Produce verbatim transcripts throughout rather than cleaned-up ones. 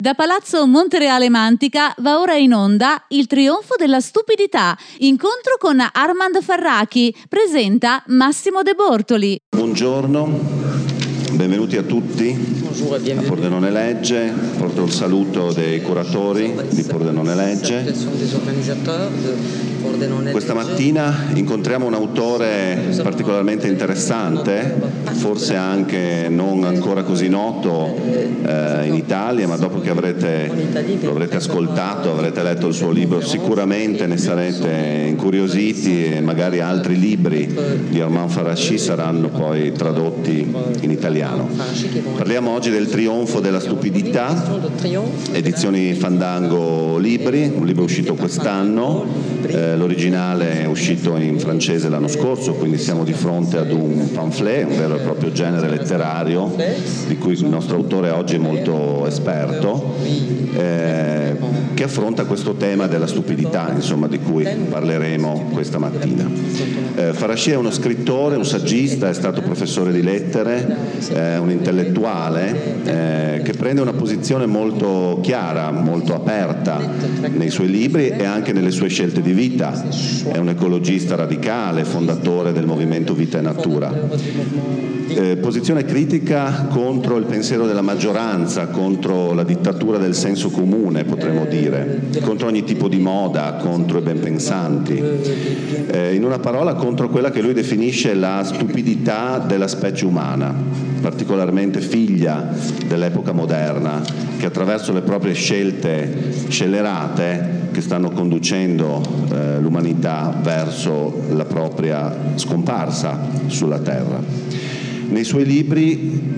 Da Palazzo Montereale Mantica va ora in onda Il trionfo della stupidità, incontro con Armand Farrachi, presenta Massimo De Bortoli. Buongiorno, benvenuti a tutti a Pordenone Legge, porto il saluto dei curatori di Pordenone Legge. Questa mattina incontriamo un autore particolarmente interessante, forse anche non ancora così noto eh, in Italia, ma dopo che avrete, lo avrete ascoltato, avrete letto il suo libro, sicuramente ne sarete incuriositi e magari altri libri di Armand Farrachi saranno poi tradotti in italiano. Parliamo oggi del Trionfo della stupidità, edizioni Fandango Libri, un libro uscito quest'anno, eh, l'originale è uscito in francese l'anno scorso, quindi siamo di fronte ad un pamphlet, un vero e proprio genere letterario di cui il nostro autore oggi è molto esperto, eh, che affronta questo tema della stupidità, insomma, di cui parleremo questa mattina. Eh, Farrachi è uno scrittore, un saggista, è stato professore di lettere, eh, un intellettuale eh, che prende una posizione molto chiara, molto aperta nei suoi libri e anche nelle sue scelte di vita. È un ecologista radicale, fondatore del movimento Vita e Natura. Eh, posizione critica contro il pensiero della maggioranza, contro la dittatura del senso comune, potremmo dire, contro ogni tipo di moda, contro i benpensanti. Eh, in una parola, contro quella che lui definisce la stupidità della specie umana, particolarmente figlia dell'epoca moderna, che attraverso le proprie scelte scellerate che stanno conducendo eh, l'umanità verso la propria scomparsa sulla Terra. Nei suoi libri,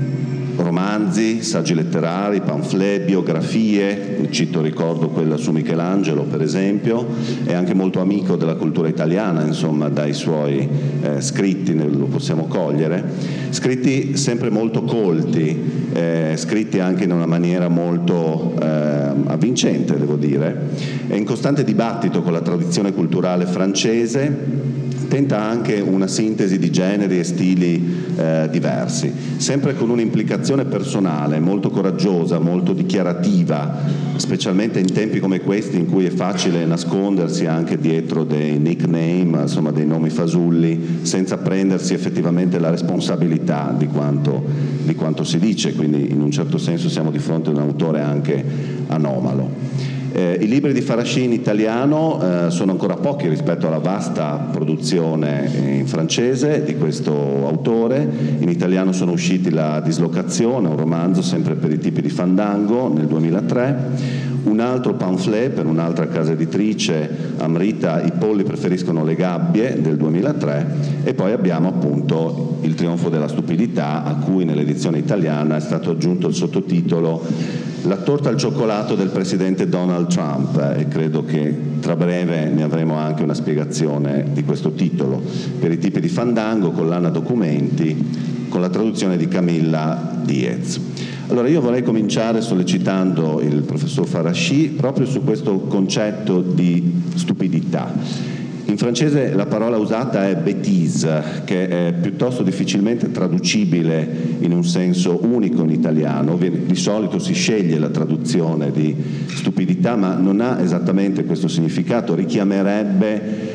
romanzi, saggi letterari, pamphlet, biografie, cito, ricordo quella su Michelangelo per esempio, è anche molto amico della cultura italiana, insomma, dai suoi eh, scritti lo possiamo cogliere, scritti sempre molto colti, eh, scritti anche in una maniera molto eh, avvincente, devo dire, è in costante dibattito con la tradizione culturale francese, tenta anche una sintesi di generi e stili eh, diversi, sempre con un'implicazione personale molto coraggiosa, molto dichiarativa, specialmente in tempi come questi in cui è facile nascondersi anche dietro dei nickname, insomma dei nomi fasulli, senza prendersi effettivamente la responsabilità di quanto, di quanto si dice, quindi in un certo senso siamo di fronte a un autore anche anomalo. Eh, I libri di Farrachi in italiano eh, sono ancora pochi rispetto alla vasta produzione in francese di questo autore. In italiano sono usciti La dislocazione, un romanzo sempre per i tipi di Fandango nel duemilatré, un altro pamphlet per un'altra casa editrice, Amrita, I polli preferiscono le gabbie del duemilatré, e poi abbiamo appunto Il trionfo della stupidità, a cui nell'edizione italiana è stato aggiunto il sottotitolo La torta al cioccolato del presidente Donald Trump, e credo che tra breve ne avremo anche una spiegazione di questo titolo. Per i tipi di Fandango, collana documenti, con la traduzione di Camilla Diez. Allora io vorrei cominciare sollecitando il professor Farrachi proprio su questo concetto di stupidità. In francese la parola usata è bêtise, che è piuttosto difficilmente traducibile in un senso unico in italiano. Di solito si sceglie la traduzione di stupidità, ma non ha esattamente questo significato, richiamerebbe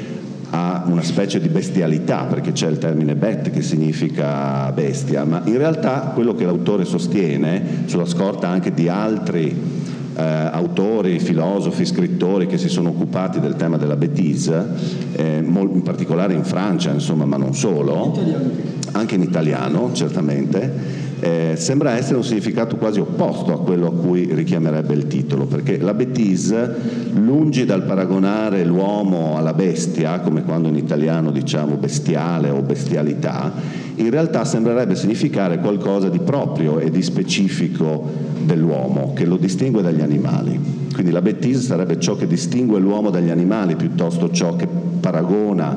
a una specie di bestialità, perché c'è il termine bet che significa bestia, ma in realtà quello che l'autore sostiene, sulla scorta anche di altri Eh, autori, filosofi, scrittori che si sono occupati del tema della bêtise, eh, in particolare in Francia, insomma, ma non solo, anche in italiano certamente, eh, sembra essere un significato quasi opposto a quello a cui richiamerebbe il titolo, perché la bêtise, lungi dal paragonare l'uomo alla bestia, come quando in italiano diciamo bestiale o bestialità, in realtà sembrerebbe significare qualcosa di proprio e di specifico dell'uomo, che lo distingue dagli animali. Quindi la bêtise sarebbe ciò che distingue l'uomo dagli animali, piuttosto ciò che paragona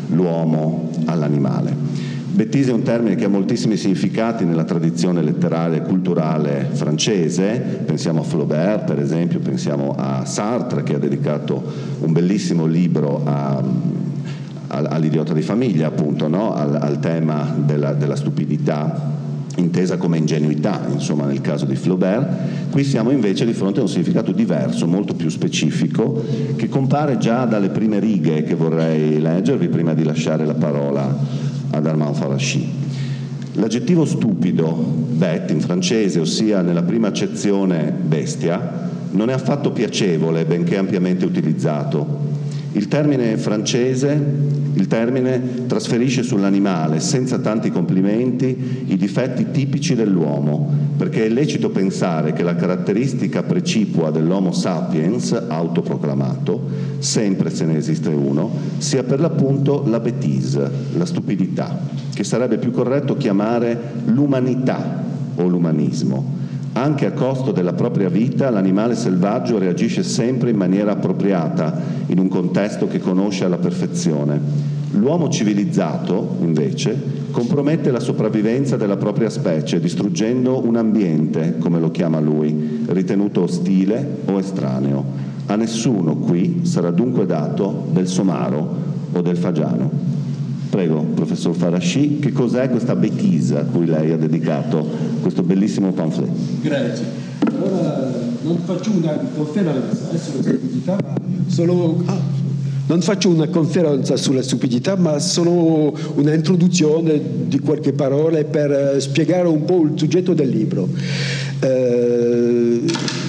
l'uomo all'animale. Bêtise è un termine che ha moltissimi significati nella tradizione letteraria e culturale francese, pensiamo a Flaubert per esempio, pensiamo a Sartre che ha dedicato un bellissimo libro a all'idiota di famiglia, appunto, no? al, al tema della, della stupidità intesa come ingenuità, insomma, nel caso di Flaubert. Qui siamo invece di fronte a un significato diverso, molto più specifico, che compare già dalle prime righe che vorrei leggervi prima di lasciare la parola ad Armand Farrachy. L'aggettivo stupido, bête in francese, ossia nella prima accezione bestia, non è affatto piacevole, benché ampiamente utilizzato. Il termine francese, il termine trasferisce sull'animale, senza tanti complimenti, i difetti tipici dell'uomo, perché è lecito pensare che la caratteristica precipua dell'Homo sapiens, autoproclamato, sempre se ne esiste uno, sia per l'appunto la bêtise, la stupidità, che sarebbe più corretto chiamare l'umanità o l'umanismo. Anche a costo della propria vita, l'animale selvaggio reagisce sempre in maniera appropriata, in un contesto che conosce alla perfezione. L'uomo civilizzato, invece, compromette la sopravvivenza della propria specie, distruggendo un ambiente, come lo chiama lui, ritenuto ostile o estraneo. A nessuno qui sarà dunque dato del somaro o del fagiano. Prego, professor Farrachy, che cos'è questa bêtise a cui lei ha dedicato questo bellissimo pamphlet? Grazie. Allora, non faccio una conferenza sulla stupidità, ma solo... Ah, non faccio una conferenza sulla stupidità, ma solo una introduzione di qualche parole per spiegare un po' il soggetto del libro. Eh,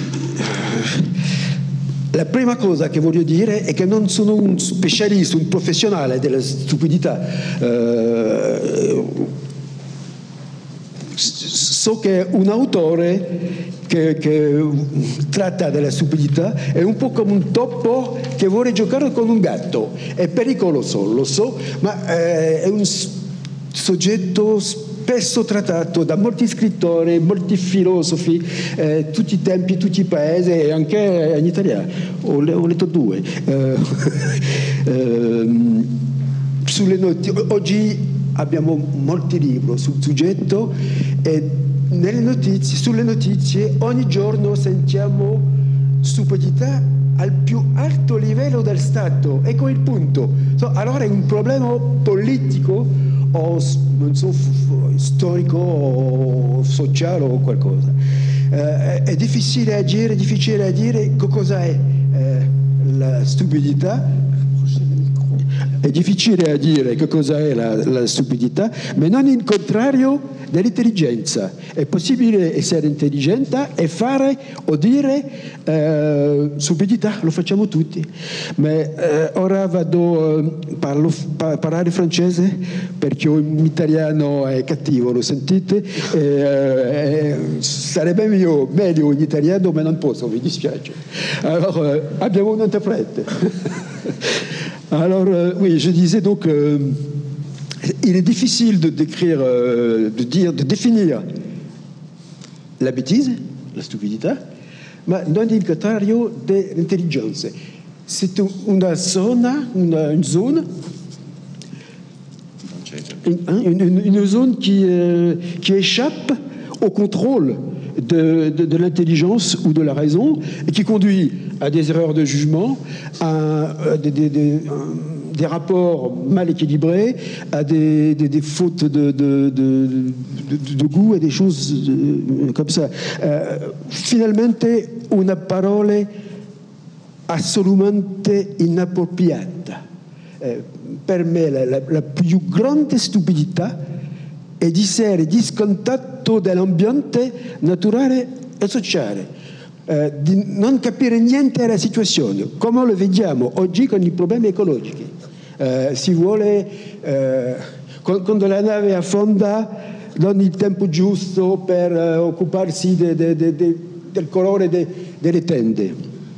La prima cosa che voglio dire è che non sono un specialista, un professionale della stupidità. Eh, so che un autore che, che tratta della stupidità è un po' come un topo che vuole giocare con un gatto. È pericoloso, lo so, ma eh, è un soggetto spesso trattato da molti scrittori, molti filosofi, eh, tutti i tempi, tutti i paesi, e anche in Italia. Ho, ho letto due. Eh, eh, sulle noti- oggi abbiamo molti libri sul soggetto e nelle notizie, sulle notizie ogni giorno sentiamo stupidità al più alto livello del Stato. Ecco il punto. So, allora è un problema politico o non so, storico o sociale o qualcosa. Eh, è difficile agire, è difficile a dire cosa è eh, la stupidità. È difficile a dire che cosa è la, la stupidità, ma non il contrario dell'intelligenza. È possibile essere intelligente e fare o dire eh, stupidità, lo facciamo tutti. Ma eh, ora vado a parlo, pa, parlare francese perché in italiano è cattivo, lo sentite? Eh, eh, sarebbe meglio, meglio in italiano, ma non posso, mi dispiace. Allora, eh, abbiamo un interprete. Alors, euh, oui, je disais donc, euh, il est difficile de décrire, euh, de dire, de définir la bêtise, la stupidità, ma non il contrario dell'intelligenza. C'est una zona, una, une zone, une, une, une zone qui, euh, qui échappe au contrôle de, de, de l'intelligence ou de la raison et qui conduit à des erreurs de jugement, à, à des, des, des, des rapports mal équilibrés, à des, des, des fautes de, de, de, de, de goût et des choses de, comme ça. Euh, finalmente, una parole assolutamente inappropriata. Eh, per me la, la, la più grande stupidità è di essere discontatto dell'ambiente naturale e sociale. Eh, di non capire niente della situazione, come lo vediamo oggi con i problemi ecologici. Eh, si vuole, eh, quando la nave affonda, non il tempo giusto per eh, occuparsi de, de, de, de, del colore de, delle tende.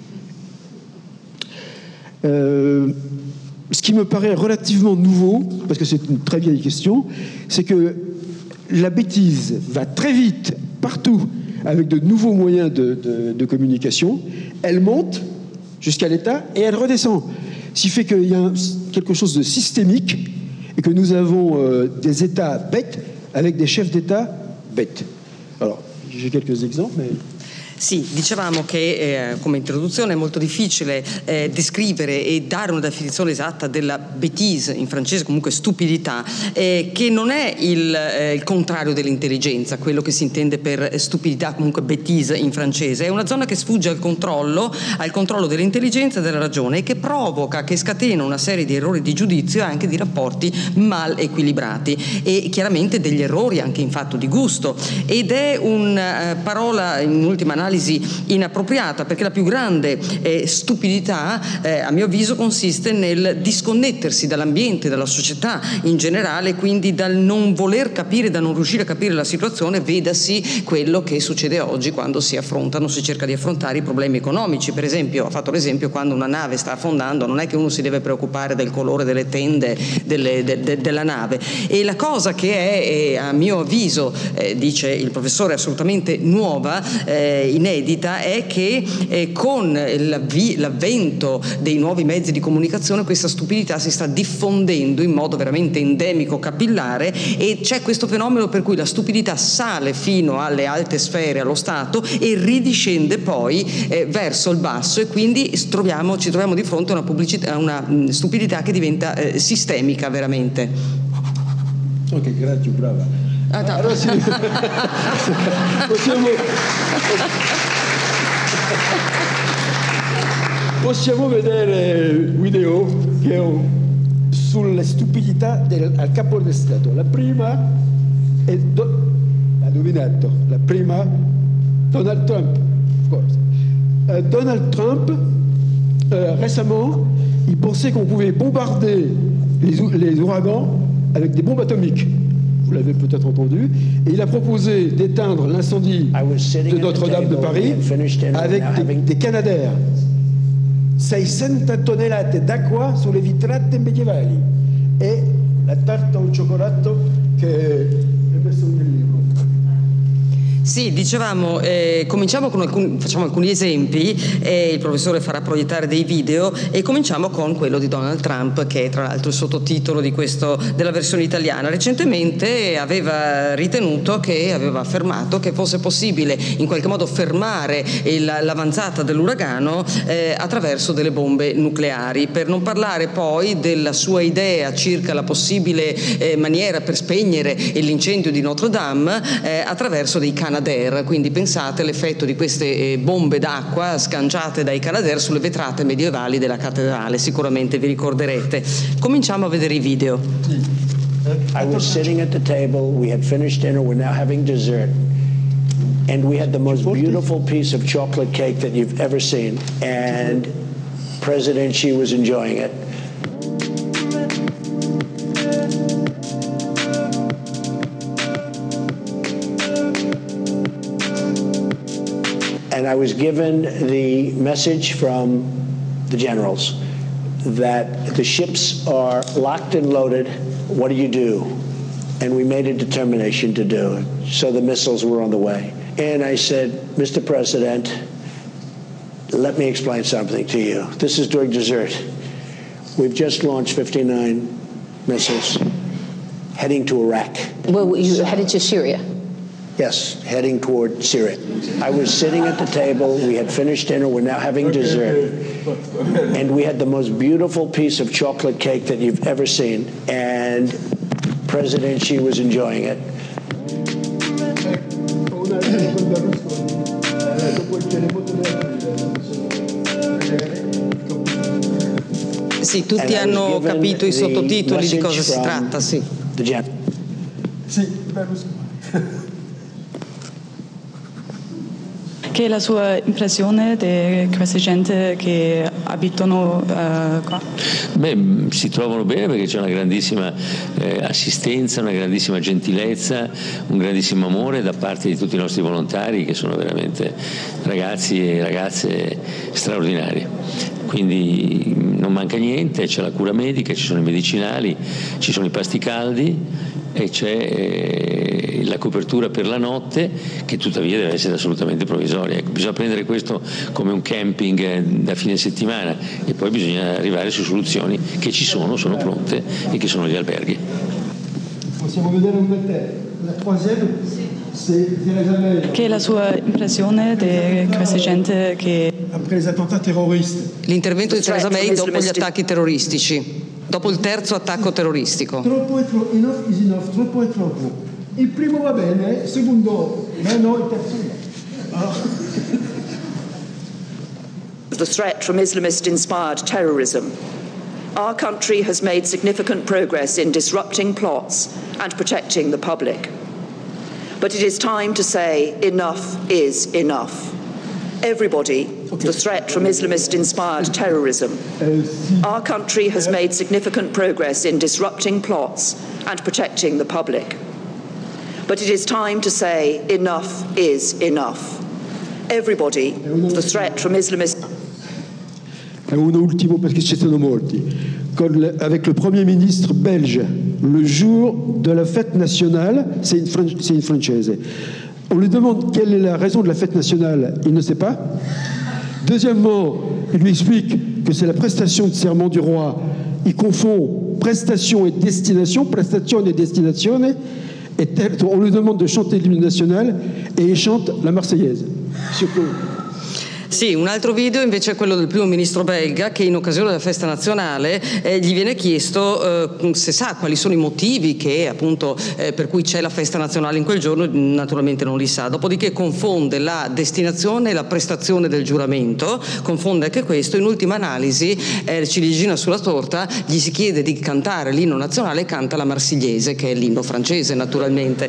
Euh, ce qui me paraît relativement nouveau, parce que c'est une très vieille question, c'est que la bêtise va très vite partout avec de nouveaux moyens de, de, de communication. Elle monte jusqu'à l'État et elle redescend. Ce qui fait qu'il y a un, quelque chose de systémique et que nous avons euh, des États bêtes avec des chefs d'État bêtes. Alors, j'ai quelques exemples, mais... Sì, dicevamo che eh, come introduzione è molto difficile eh, descrivere e dare una definizione esatta della bêtise, in francese comunque stupidità, eh, che non è il, eh, il contrario dell'intelligenza, quello che si intende per stupidità, comunque bêtise in francese. È una zona che sfugge al controllo, al controllo dell'intelligenza e della ragione, e che provoca, che scatena una serie di errori di giudizio e anche di rapporti mal equilibrati, e chiaramente degli errori anche in fatto di gusto. Ed è una eh, parola in ultima analisi inappropriata, perché la più grande eh, stupidità eh, a mio avviso consiste nel disconnettersi dall'ambiente, dalla società in generale, quindi dal non voler capire, da non riuscire a capire la situazione, vedasi quello che succede oggi quando si affrontano, si cerca di affrontare i problemi economici. Per esempio, ho fatto l'esempio, quando una nave sta affondando non è che uno si deve preoccupare del colore delle tende delle, de, de, della nave, e la cosa che è, è a mio avviso, eh, dice il professore, assolutamente nuova, eh, inedita, è che eh, con l'avvento dei nuovi mezzi di comunicazione questa stupidità si sta diffondendo in modo veramente endemico, capillare, e c'è questo fenomeno per cui la stupidità sale fino alle alte sfere, allo Stato, e ridiscende poi eh, verso il basso, e quindi troviamo, ci troviamo di fronte a una, pubblicità, una mh, stupidità che diventa eh, sistemica veramente. Ok, grazie, brava. Ah, no. Allora sì. possiamo, possiamo vedere video che ho sulle stupidità del al capo del Stato. La prima è do, ha indovinato, la prima Donald Trump. Of course. Euh, Donald Trump euh, récemment il pensait qu'on pouvait bombarder les, les ouragans avec des bombes atomiques. Vous l'avez peut-être entendu. Et il a proposé d'éteindre l'incendie de Notre-Dame de Paris avec des, des Canadair. seicento tonnellate d'acqua sulle vetrate medievali e la tarta al cioccolato che è messo nel libro. Sì, dicevamo, eh, cominciamo con alcuni, facciamo alcuni esempi, eh, il professore farà proiettare dei video, e cominciamo con quello di Donald Trump, che è tra l'altro il sottotitolo di questo, della versione italiana. Recentemente aveva ritenuto, che aveva affermato che fosse possibile in qualche modo fermare il, l'avanzata dell'uragano eh, attraverso delle bombe nucleari, per non parlare poi della sua idea circa la possibile eh, maniera per spegnere l'incendio di Notre Dame eh, attraverso dei Canadair. Quindi pensate l'effetto di queste bombe d'acqua sganciate dai Canadair sulle vetrate medievali della cattedrale, sicuramente vi ricorderete. Cominciamo a vedere i video. I was sitting at the table, we had finished dinner, we're now having dessert, and we had the most beautiful piece of chocolate cake that you've ever seen, and President Xi was enjoying it. And I was given the message from the generals that the ships are locked and loaded. What do you do? And we made a determination to do it. So the missiles were on the way. And I said, Mister President, let me explain something to you. This is during dessert. We've just launched fifty-nine missiles heading to Iraq. Well, you headed to Syria? Yes, heading toward Syria. I was sitting at the table, we had finished dinner, we're now having dessert, and we had the most beautiful piece of chocolate cake that you've ever seen, and President Xi was enjoying it. Sì, tutti hanno capito i sottotitoli di cosa si tratta, sì. Sì, Berlusconi. Che è la sua impressione di questa gente che abitano uh, qua? Beh, si trovano bene perché c'è una grandissima eh, assistenza, una grandissima gentilezza, un grandissimo amore da parte di tutti i nostri volontari, che sono veramente ragazzi e ragazze straordinari. Quindi non manca niente, c'è la cura medica, ci sono i medicinali, ci sono i pasti caldi e c'è eh, la copertura per la notte, che tuttavia deve essere assolutamente provvisoria. Ecco, bisogna prendere questo come un camping eh, da fine settimana, e poi bisogna arrivare su soluzioni che ci sono, sono pronte, e che sono gli alberghi. Possiamo vedere un bel te. La troisième? Che è la sua impressione di questa gente che... L'intervento di Theresa May dopo gli attacchi terroristici, dopo il terzo attacco terroristico. Troppo è troppo, enough is enough, troppo è troppo. Il primo va bene, il secondo, ma no, il terzo no. The threat from Islamist-inspired terrorism. Our country has made significant progress in disrupting plots and protecting the public. But it is time to say enough is enough. Everybody, okay. The threat from Islamist-inspired terrorism. Our country has made significant progress in disrupting plots and protecting the public. But it is time to say enough is enough. Everybody, the threat from Islamist... Un ultimo perché ci sono molti. Con, avec le Premier ministre belge, le jour de la fête nationale, c'est une, c'est une française. On lui demande quelle est la raison de la fête nationale, il ne sait pas. Deuxièmement, il lui explique que c'est la prestation de serment du roi. Il confond prestation et destination, prestation et destination. Et tel, on lui demande de chanter l'hymne national et il chante la Marseillaise. Surtout. Sì, un altro video invece è quello del primo ministro belga che in occasione della festa nazionale eh, gli viene chiesto eh, se sa quali sono i motivi che appunto eh, per cui c'è la festa nazionale in quel giorno, naturalmente non li sa, dopodiché confonde la destinazione e la prestazione del giuramento, confonde anche questo, in ultima analisi eh, ciliegina sulla torta gli si chiede di cantare l'inno nazionale e canta la Marsigliese che è l'inno francese naturalmente.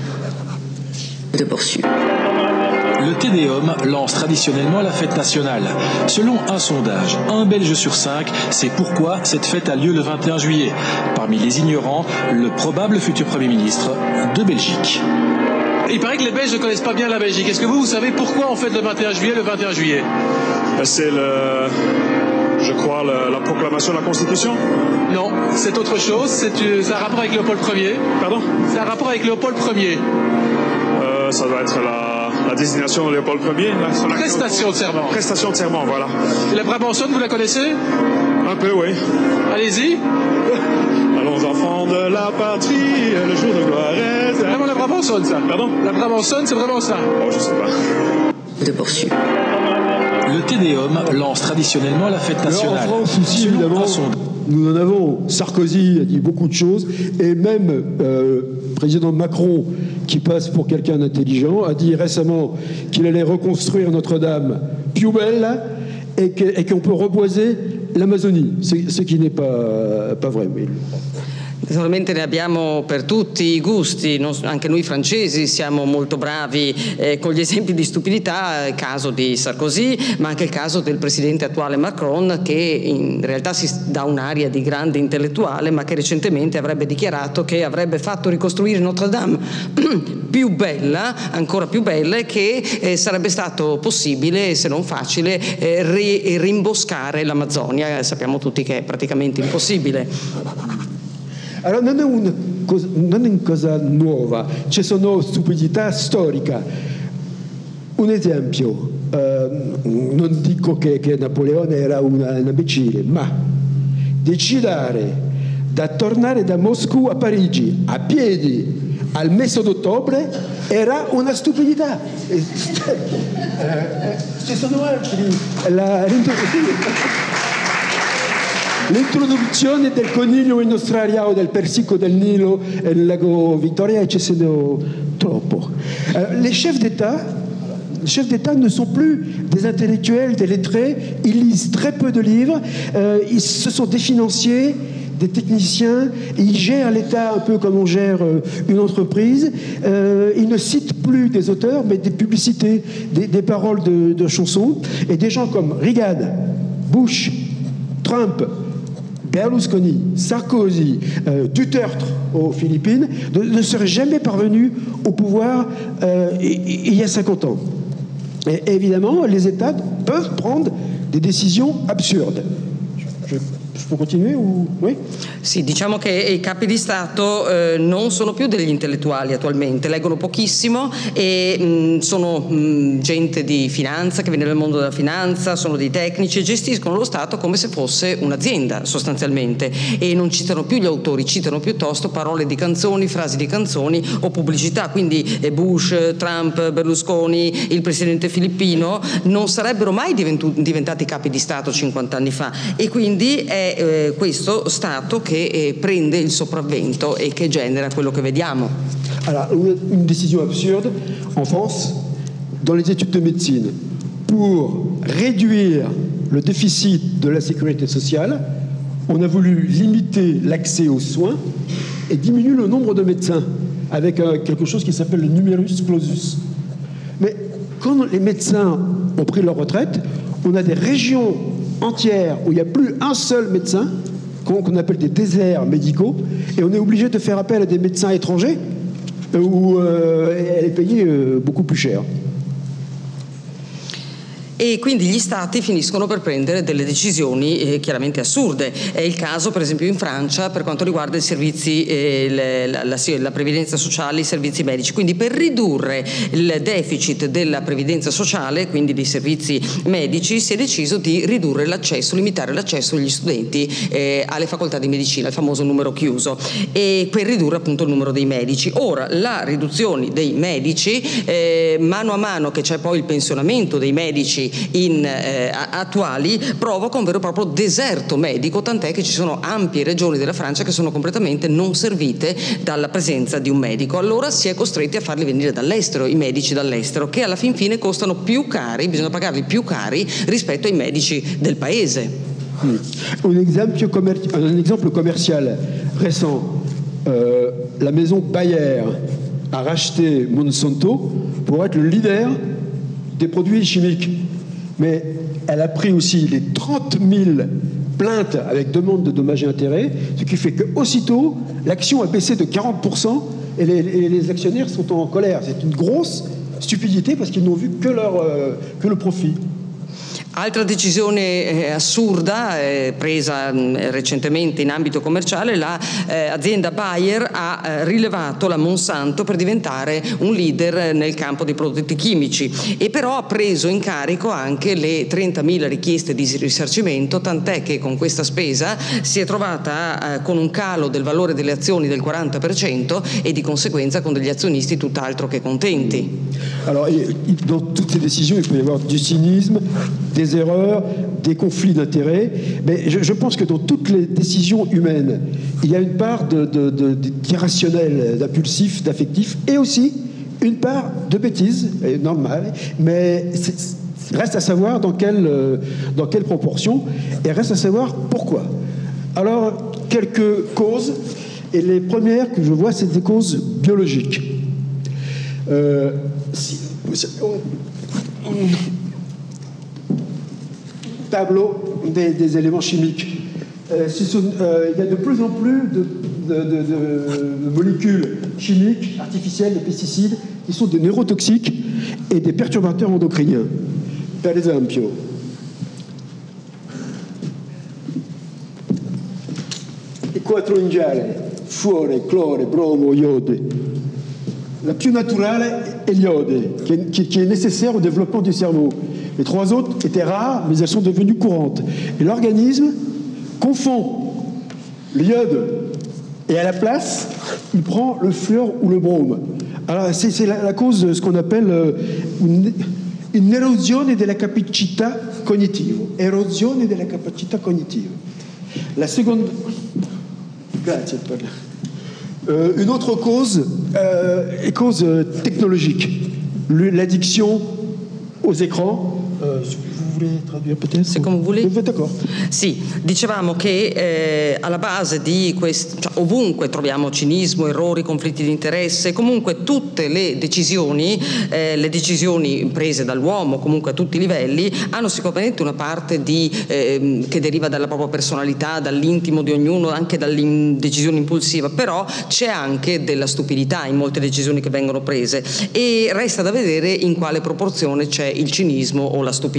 Le Te Deum lance traditionnellement la fête nationale. Selon un sondage, un Belge sur cinq sait pourquoi cette fête a lieu le vingt et un juillet. Parmi les ignorants, le probable futur Premier ministre de Belgique. Il paraît que les Belges ne connaissent pas bien la Belgique. Est-ce que vous, vous savez pourquoi on fête le vingt et un juillet le vingt et un juillet? C'est le... je crois, le, la proclamation de la Constitution. Non, c'est autre chose. C'est un rapport avec Léopold Ier. Pardon? C'est un rapport avec Léopold Ier. Euh, ça doit être la, la désignation de Léopold Ier. La, Prestation de serment. Prestation de serment, voilà. Et la Brabançonne, vous la connaissez? Un peu, oui. Allez-y. Allons enfants de la patrie, le jour de gloire est... C'est vraiment la Brabançonne, ça. Pardon? La Brabançonne, c'est vraiment ça. Oh, je sais pas. De poursuivre. Le Te Deum lance traditionnellement la fête nationale. Alors en France aussi, évidemment, nous en avons. Sarkozy a dit beaucoup de choses, et même euh, le président Macron, qui passe pour quelqu'un d'intelligent, a dit récemment qu'il allait reconstruire Notre-Dame più bella et que, et qu'on peut reboiser l'Amazonie, ce qui n'est pas, pas vrai. Mais... Naturalmente ne abbiamo per tutti i gusti, non, anche noi francesi siamo molto bravi eh, con gli esempi di stupidità, il caso di Sarkozy, ma anche il caso del presidente attuale Macron che in realtà si dà un'aria di grande intellettuale ma che recentemente avrebbe dichiarato che avrebbe fatto ricostruire Notre Dame più bella, ancora più bella e che eh, sarebbe stato possibile, se non facile, eh, ri- rimboscare l'Amazzonia. Sappiamo tutti che è praticamente impossibile. Allora non è, una cosa, non è una cosa nuova, ci sono stupidità storica. Un esempio, eh, non dico che, che Napoleone era una, un imbecille, ma decidere da tornare da Moscou a Parigi a piedi al mese d'ottobre era una stupidità. Eh, eh, ci sono altri. La, L'introduzione del coniglio in Australia o del persico del Nilo nel lago Victoria ci sono troppo. Les chefs d'État, les chefs d'État ne sont plus des intellectuels, des lettrés, ils lisent très peu de livres, euh, ils, ce sont des financiers, des techniciens, ils gèrent l'État un peu comme on gère une entreprise, euh, ils ne citent plus des auteurs mais des publicités, des, des paroles de, de chansons, et des gens comme Reagan, Bush, Trump, Berlusconi, Sarkozy, euh, Duterte aux Philippines ne, ne seraient jamais parvenus au pouvoir euh, il y a cinquante ans. Et évidemment, les États peuvent prendre des décisions absurdes. Je, je peux continuer ou oui ? Sì, diciamo che i capi di Stato eh, non sono più degli intellettuali attualmente, leggono pochissimo e mh, sono mh, gente di finanza che viene dal mondo della finanza, sono dei tecnici e gestiscono lo Stato come se fosse un'azienda sostanzialmente, e non citano più gli autori, citano piuttosto parole di canzoni, frasi di canzoni o pubblicità. Quindi eh, Bush, Trump, Berlusconi, il presidente filippino non sarebbero mai diventu- diventati capi di Stato cinquanta anni fa, e quindi è eh, questo Stato che eh, prende il sopravvento e che genera quello che vediamo. Alors, une, une décision absurde en France, dans les études de médecine, pour réduire le déficit de la sécurité sociale, on a voulu limiter l'accès aux soins et diminuer le nombre de médecins avec euh, quelque chose qui s'appelle le numerus clausus. Mais quand les médecins ont pris leur retraite, on a des régions entières où il n'y a plus un seul médecin, qu'on appelle des déserts médicaux, et on est obligé de faire appel à des médecins étrangers où euh, elle est payée euh, beaucoup plus cher. E quindi gli stati finiscono per prendere delle decisioni eh, chiaramente assurde. È il caso per esempio in Francia per quanto riguarda i servizi, eh, le, la, la, la previdenza sociale, i servizi medici. Quindi per ridurre il deficit della previdenza sociale, quindi dei servizi medici, si è deciso di ridurre l'accesso, limitare l'accesso degli studenti eh, alle facoltà di medicina, il famoso numero chiuso, e per ridurre appunto il numero dei medici. Ora la riduzione dei medici, eh, mano a mano che c'è poi il pensionamento dei medici In, eh, attuali, provoca un vero e proprio deserto medico, tant'è che ci sono ampie regioni della Francia che sono completamente non servite dalla presenza di un medico. Allora si è costretti a farli venire dall'estero, i medici dall'estero, che alla fin fine costano più cari, bisogna pagarli più cari rispetto ai medici del paese. Hmm. Un, exemple commer- un exemple commercial récent, euh, la maison Bayer a racheté Monsanto pour être le leader des produits chimiques. Mais elle a pris aussi les trente mille plaintes avec demande de dommages et intérêts, ce qui fait qu'aussitôt, l'action a baissé de quarante pour cent et les, et les actionnaires sont en colère. C'est une grosse stupidité parce qu'ils n'ont vu que, leur, euh, que le profit. Altra decisione eh, assurda eh, presa mh, recentemente in ambito commerciale, l'azienda la, eh, Bayer ha eh, rilevato la Monsanto per diventare un leader nel campo dei prodotti chimici, e però ha preso in carico anche le trentamila richieste di risarcimento, tant'è che con questa spesa si è trovata eh, con un calo del valore delle azioni del quaranta per cento e di conseguenza con degli azionisti tutt'altro che contenti. Alors, dans toutes ces décisions, il peut y avoir du cynisme, des erreurs, des conflits d'intérêts, mais je, je pense que dans toutes les décisions humaines, il y a une part de, de, de, d'irrationnel, d'impulsif, d'affectif, et aussi une part de bêtise, normale, mais c'est, reste à savoir dans quelle, dans quelle proportion, et reste à savoir pourquoi. Alors, quelques causes, et les premières que je vois, c'est des causes biologiques. Euh, si, tableau des, des éléments chimiques. Euh, sont, euh, il y a de plus en plus de, de, de, de molécules chimiques, artificielles, de pesticides, qui sont des neurotoxiques et des perturbateurs endocriniens. Per esempio, il quattro ingiale, fuore, clore, bromo, iode. La più naturale est l'iode, qui est, qui, qui est nécessaire au développement du cerveau. Les trois autres étaient rares, mais elles sont devenues courantes. Et l'organisme confond l'iode et à la place, il prend le fluor ou le brome. Alors c'est, c'est la, la cause de ce qu'on appelle euh, une, une erosione della capacità cognitiva. Erosione della capacità cognitiva. La seconde... Grazie per... Euh, une autre cause euh, est cause technologique, l'addiction aux écrans. Euh, vous voulez traduire peut-être? Se come vuole. D'accord. Sì, dicevamo che eh, alla base di questo, cioè, ovunque troviamo cinismo, errori, conflitti di interesse, comunque tutte le decisioni, eh, le decisioni prese dall'uomo, comunque a tutti i livelli, hanno sicuramente una parte di, eh, che deriva dalla propria personalità, dall'intimo di ognuno, anche dalle decisioni impulsive, però c'è anche della stupidità in molte decisioni che vengono prese, e resta da vedere in quale proporzione c'è il cinismo o la stupidità.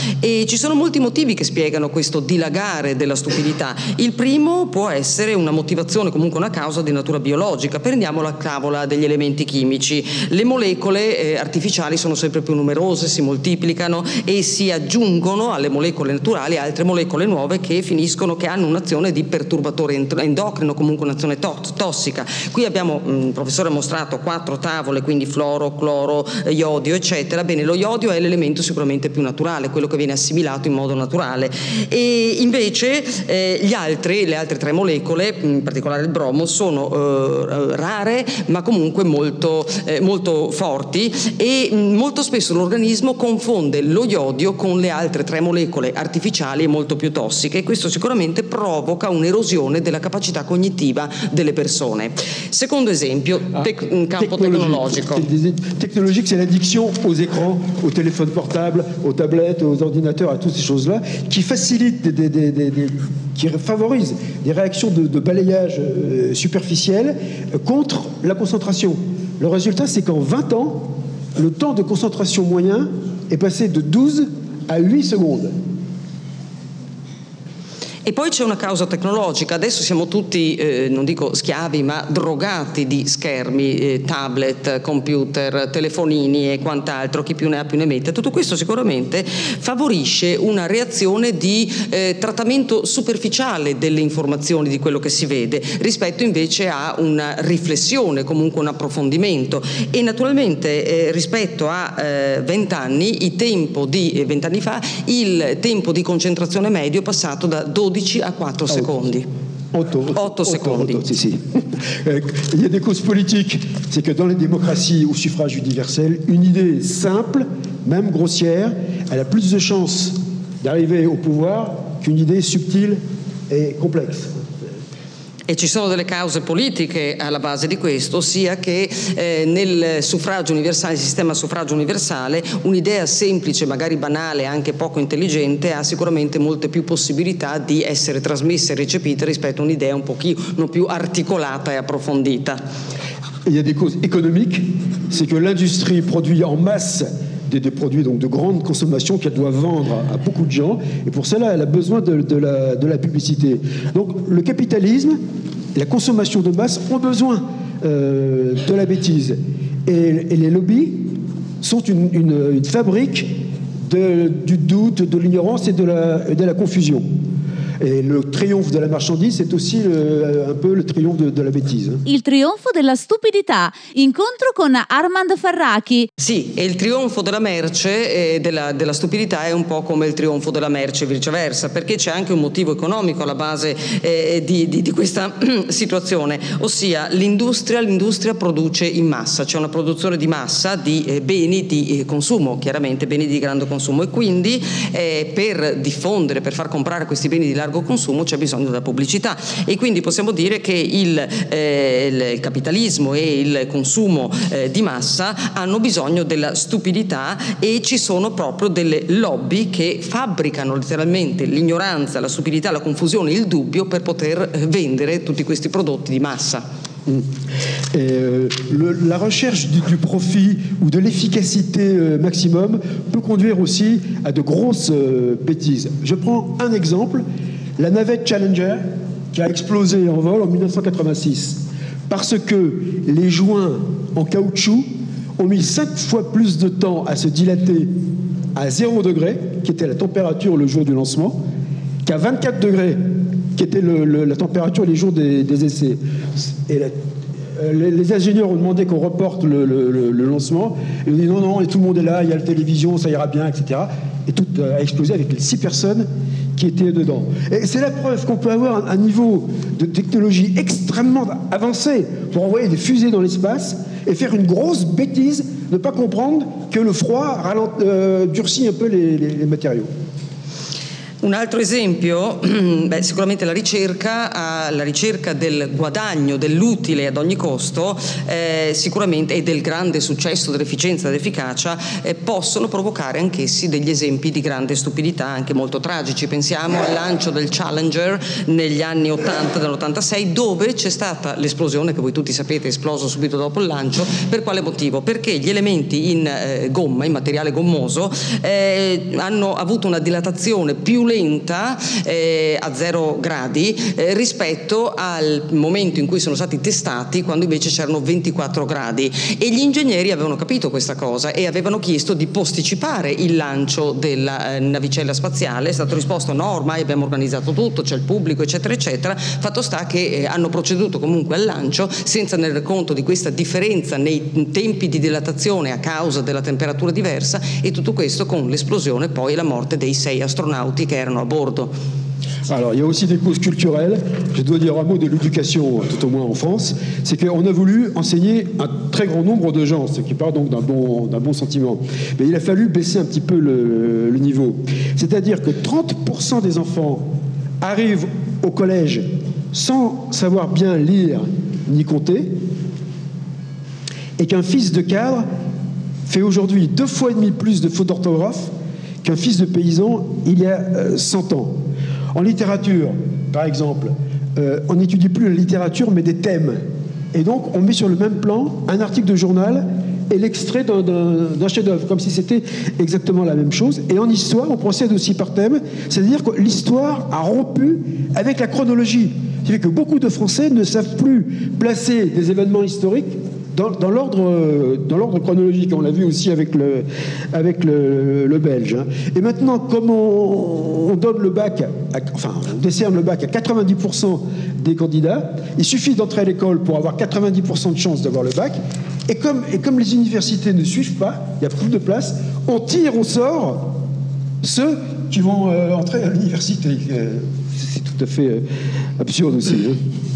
E ci sono molti motivi che spiegano questo dilagare della stupidità. Il primo può essere una motivazione, comunque una causa di natura biologica. Prendiamo la tavola degli elementi chimici. Le molecole eh, artificiali sono sempre più numerose, si moltiplicano e si aggiungono alle molecole naturali altre molecole nuove che finiscono, che hanno un'azione di perturbatore endocrino, comunque un'azione to- tossica. Qui abbiamo, mh, il professore ha mostrato quattro tavole, quindi fluoro, cloro, eh, iodio, eccetera. Bene, lo iodio è l'elemento sicuramente più naturale, quello che viene assimilato in modo naturale, e invece eh, gli altri, le altre tre molecole, in particolare il bromo, sono eh, rare ma comunque molto, eh, molto forti, e mh, molto spesso l'organismo confonde lo iodio con le altre tre molecole artificiali e molto più tossiche, e questo sicuramente provoca un'erosione della capacità cognitiva delle persone. Secondo esempio, tec- in campo tecnologico. Technologique, c'est l'addiction aux écrans, aux téléphones portables, aux tablettes, aux ordinateurs, à toutes ces choses-là, qui facilitent, des, des, des, des, qui favorisent des réactions de, de balayage euh, superficiel euh, contre la concentration. Le résultat, c'est qu'en vingt ans, le temps de concentration moyen est passé de douze à huit secondes. E poi c'è una causa tecnologica. Adesso siamo tutti, eh, non dico schiavi, ma drogati di schermi, eh, tablet, computer, telefonini e quant'altro, chi più ne ha più ne mette. Tutto questo sicuramente favorisce una reazione di eh, trattamento superficiale delle informazioni, di quello che si vede, rispetto invece a una riflessione, comunque un approfondimento. E naturalmente eh, rispetto a vent'anni, il tempo di vent'anni fa, il tempo di concentrazione medio è passato da dodici a quattro secondi. Otto secondi. Si, si. Il y a des causes politiques. C'est que dans les démocraties au suffrage universel, une idée simple, même grossière, elle a plus de chances d'arriver au pouvoir qu'une idée subtile et complexe. E ci sono delle cause politiche alla base di questo, ossia che eh, nel suffragio universale, il sistema suffragio universale, un'idea semplice, magari banale, anche poco intelligente, ha sicuramente molte più possibilità di essere trasmessa e recepita rispetto a un'idea un pochino più articolata e approfondita. Il y a des causes économiques, c'est que l'industrie produit en masse Des, des produits donc de grande consommation qu'elle doit vendre à, à beaucoup de gens, et pour cela elle a besoin de, de, la, de la publicité. Donc le capitalisme, la consommation de masse ont besoin euh, de la bêtise, et, et les lobbies sont une, une, une fabrique de, du doute, de l'ignorance et de la, et de la confusion. Et le triomphe de la marchandise, c'est aussi le, un peu le triomphe de, de la bêtise. Il trionfo della stupidità. Incontro con Armand Farrachi. Sì, e il trionfo della merce e della, della stupidità è un po' come il trionfo della merce e viceversa, perché c'è anche un motivo economico alla base eh, di, di, di questa situazione, ossia l'industria, l'industria produce in massa, c'è una produzione di massa di eh, beni di eh, consumo, chiaramente beni di grande consumo, e quindi eh, per diffondere, per far comprare questi beni di largo consumo c'è bisogno della pubblicità, e quindi possiamo dire che il, eh, il capitalismo e il consumo eh, di massa hanno bisogno della stupidità, e ci sono proprio delle lobby che fabbricano letteralmente l'ignoranza, la stupidità, la confusione, il dubbio per poter vendere tutti questi prodotti di massa. Et euh, le, la recherche du, du profit ou de l'efficacité euh, maximum peut conduire aussi à de grosses euh, bêtises. Je prends un exemple, la navette Challenger qui a explosé en vol en dix-neuf cent quatre-vingt-six parce que les joints en caoutchouc ont mis cinq fois plus de temps à se dilater à zéro degré, qui était la température le jour du lancement, qu'à vingt-quatre degrés, qui était le, le, la température les jours des, des essais. Et la, euh, les, les ingénieurs ont demandé qu'on reporte le, le, le, le lancement. Ils ont dit non, non, et tout le monde est là, il y a la télévision, ça ira bien, et cetera. Et tout a explosé avec les six personnes qui étaient dedans. Et c'est la preuve qu'on peut avoir un, un niveau de technologie extrêmement avancé pour envoyer des fusées dans l'espace et faire une grosse bêtise, ne pas comprendre que le froid ralent, euh, durcit un peu les, les, les matériaux. Un altro esempio, beh, sicuramente la ricerca, la ricerca del guadagno, dell'utile ad ogni costo, eh, sicuramente, e del grande successo, dell'efficienza, dell'efficacia, eh, possono provocare anch'essi degli esempi di grande stupidità, anche molto tragici. Pensiamo al lancio del Challenger negli anni ottanta, dell'ottantasei, dove c'è stata l'esplosione, che voi tutti sapete è esploso subito dopo il lancio. Per quale motivo? Perché gli elementi in eh, gomma, in materiale gommoso, eh, hanno avuto una dilatazione più lenta eh, a zero gradi eh, rispetto al momento in cui sono stati testati, quando invece c'erano ventiquattro gradi, e gli ingegneri avevano capito questa cosa e avevano chiesto di posticipare il lancio della eh, navicella spaziale. È stato risposto no, ormai abbiamo organizzato tutto, c'è il pubblico eccetera eccetera. Fatto sta che eh, hanno proceduto comunque al lancio senza tenere conto di questa differenza nei tempi di dilatazione a causa della temperatura diversa, e tutto questo con l'esplosione poi e la morte dei sei astronauti che erano a bordo. Alors, il y a aussi des causes culturelles. Je dois dire un mot de l'éducation, tout au moins en France. C'est qu'on a voulu enseigner un très grand nombre de gens, ce qui part donc d'un bon, d'un bon sentiment. Mais il a fallu baisser un petit peu le, le niveau. C'est-à-dire que trente pour cent des enfants arrivent au collège sans savoir bien lire ni compter, et qu'un fils de cadre fait aujourd'hui deux fois et demi plus de fautes d'orthographe qu'un fils de paysan il y a euh, cent ans. En littérature, par exemple, euh, on n'étudie plus la littérature, mais des thèmes. Et donc, on met sur le même plan un article de journal et l'extrait d'un, d'un, d'un chef-d'œuvre, comme si c'était exactement la même chose. Et en histoire, on procède aussi par thème, c'est-à-dire que l'histoire a rompu avec la chronologie. C'est-à-dire que beaucoup de Français ne savent plus placer des événements historiques Dans, dans, l'ordre, dans l'ordre chronologique. On l'a vu aussi avec le, avec le, le belge. Et maintenant, comme on, on donne le bac, à, enfin, on décerne le bac à quatre-vingt-dix pour cent des candidats, il suffit d'entrer à l'école pour avoir quatre-vingt-dix pour cent de chance d'avoir le bac. Et comme, et comme les universités ne suivent pas, il y a plus de place, on tire au sort ceux qui vont euh, entrer à l'université. Euh, c'est tout à fait euh, absurde aussi. Hein.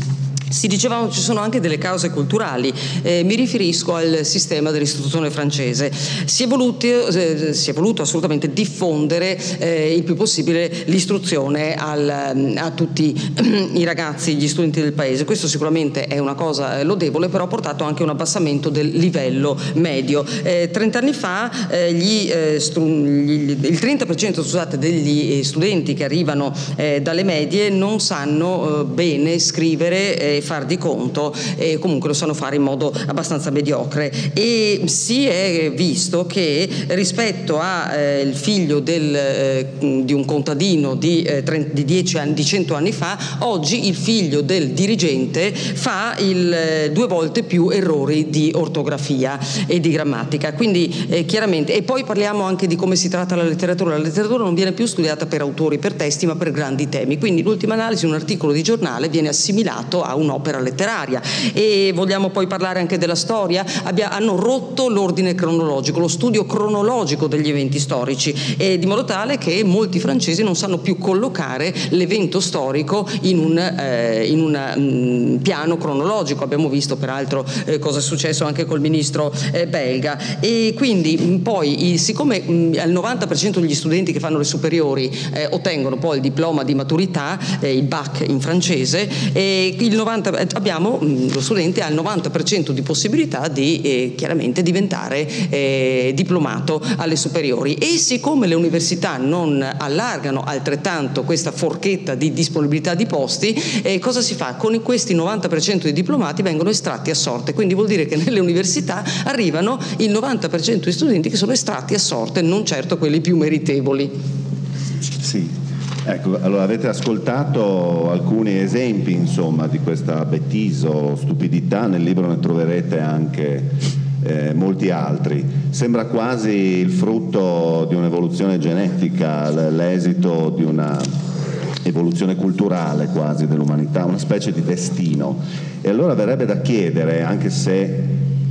Si dicevamo ci sono anche delle cause culturali, eh, mi riferisco al sistema dell'istruzione francese. Si è voluto, eh, si è voluto assolutamente diffondere eh, il più possibile l'istruzione al, a tutti i ragazzi, gli studenti del paese. Questo sicuramente è una cosa lodevole, però ha portato anche un abbassamento del livello medio. Eh, trent'anni fa eh, gli, eh, stru- gli, il trenta per cento scusate, degli studenti che arrivano eh, dalle medie non sanno eh, bene scrivere eh, far di conto, e comunque lo sanno fare in modo abbastanza mediocre, e si è visto che rispetto al eh, figlio del, eh, di un contadino di, eh, trenta, di dieci anni, di cento anni fa, oggi il figlio del dirigente fa il, eh, due volte più errori di ortografia e di grammatica, quindi eh, chiaramente. E poi parliamo anche di come si tratta la letteratura. La letteratura non viene più studiata per autori, per testi, ma per grandi temi, quindi in ultima analisi un articolo di giornale viene assimilato a un opera letteraria. E vogliamo poi parlare anche della storia. Abbia, hanno rotto l'ordine cronologico, lo studio cronologico degli eventi storici, e di modo tale che molti francesi non sanno più collocare l'evento storico in un, eh, in un um, piano cronologico. Abbiamo visto peraltro eh, cosa è successo anche col ministro eh, belga. E quindi poi il, siccome mh, al novanta per cento degli studenti che fanno le superiori eh, ottengono poi il diploma di maturità, eh, il bac in francese, e il novanta abbiamo lo studente ha il novanta per cento di possibilità di eh, chiaramente diventare eh, diplomato alle superiori, e siccome le università non allargano altrettanto questa forchetta di disponibilità di posti, eh, cosa si fa? Con questi novanta per cento di diplomati vengono estratti a sorte, quindi vuol dire che nelle università arrivano il novanta per cento di studenti che sono estratti a sorte, non certo quelli più meritevoli. Sì. Ecco, allora avete ascoltato alcuni esempi, insomma, di questa bêtise o stupidità. Nel libro ne troverete anche eh, molti altri. Sembra quasi il frutto di un'evoluzione genetica, l'esito di una evoluzione culturale quasi dell'umanità, una specie di destino. E allora verrebbe da chiedere, anche se